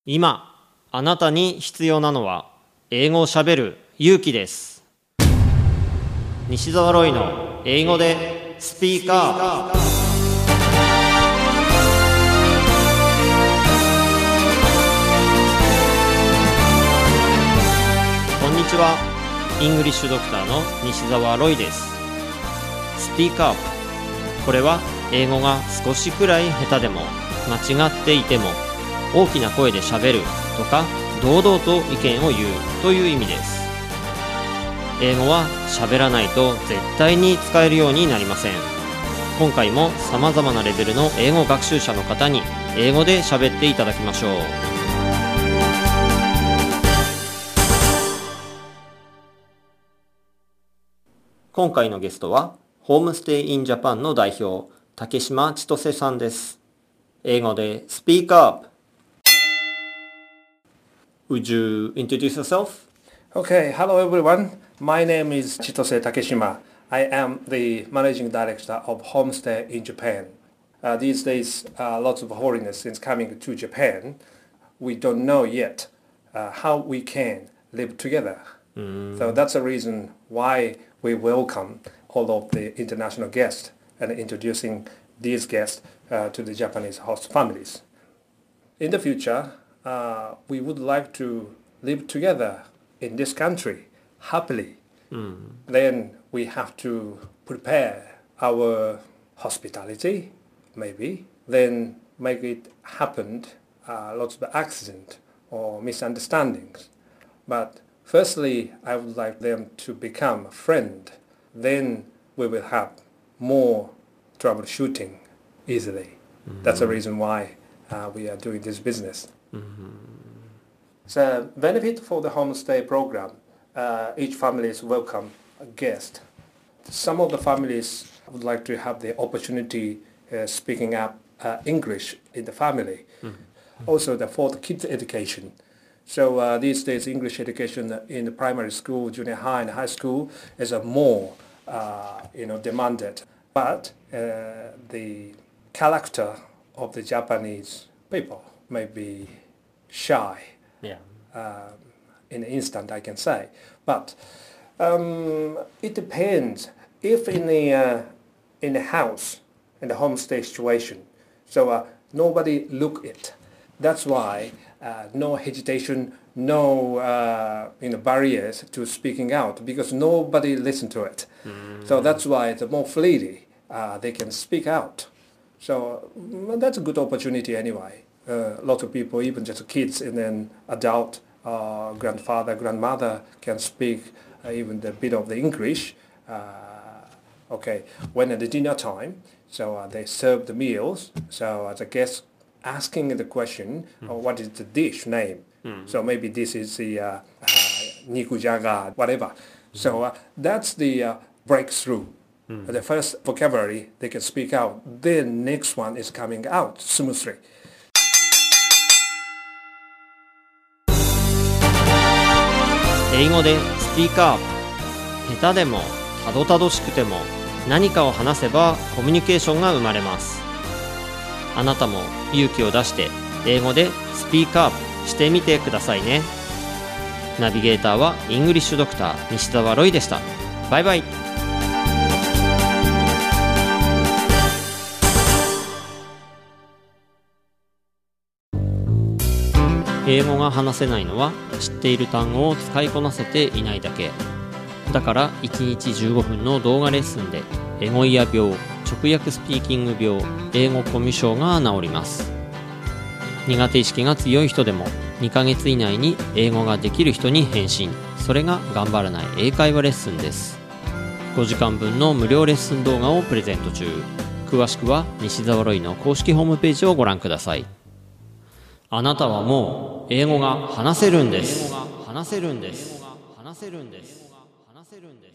今あなたに必要なのは英語をしゃべる勇気です。西澤ロイの英語でスピーカー。こんにちは。イングリッシュドクターの西澤ロイです。スピーカー。これは英語が少しくらい下手でも間違っていても大きな声でしゃべるとか堂々と意見を言うという意味です。英語はしゃべらないと絶対に使えるようになりません。今回も様々なレベルの英語学習者の方に英語でしゃべっていただきましょう。今回のゲストはホームステイインジャパンの代表竹島千歳さんです。英語でスピーカーアップ。Would you introduce yourself? Okay, hello everyone. My name is Chitose Takeshima. I am the managing director of Homestay in Japan. These days, lots of foreigners since coming to Japan. We don't know yet how we can live together. So that's the reason why we welcome all of the international guests and introducing these guests to the Japanese host families. In the future, we would like to live together in this country happily. Then we have to prepare our hospitality, maybe. Then make it happen, lots of accident or misunderstandings. But firstly, I would like them to become a friend. Then we will have more troubleshooting easily. That's the reason why we are doing this business. So benefit for the homestay program, each family is welcome a guest. Some of the families would like to have the opportunity speaking up English in the family. Also for the kids education. So these days English education in the primary school, junior high and high school is more demanded. But the character of the Japanese people may be shy. In an instant, I can say. But it depends. If in the house, in the homestay situation, so nobody look it. That's why no hesitation, no barriers to speaking out because nobody listen to it. So that's why it's more freely they can speak out. So that's a good opportunity anyway. Lots of people, even just kids and then adult, grandfather, grandmother can speak even a bit of the English. When at the dinner time, so they serve the meals. So as a guest asking the question, what is the dish name? So maybe this is the nikujaga, whatever. So that's the breakthrough. The first vocabulary they can speak out. Then next one is coming out smoothly. 英語でスピーカーアップ。下手でもたどたどしくても何かを話せばコミュニケーションが生まれます。あなたも勇気を出して英語でスピーカーアップしてみてくださいね。ナビゲーターはイングリッシュドクター西澤ロイでした。バイバイ。英語が話せないのは知っている単語を使いこなせていないだけ。だから1日15分の動画レッスンでエゴイヤ病、直訳スピーキング病、英語コミュ障が治ります。苦手意識が強い人でも2ヶ月以内に英語ができる人に変身。それが頑張らない英会話レッスンです。5時間分の無料レッスン動画をプレゼント中。詳しくは西澤ロイの公式ホームページをご覧ください。あなたはもう英語が話せるんです。話せるんです。話せるんです。話せるんです。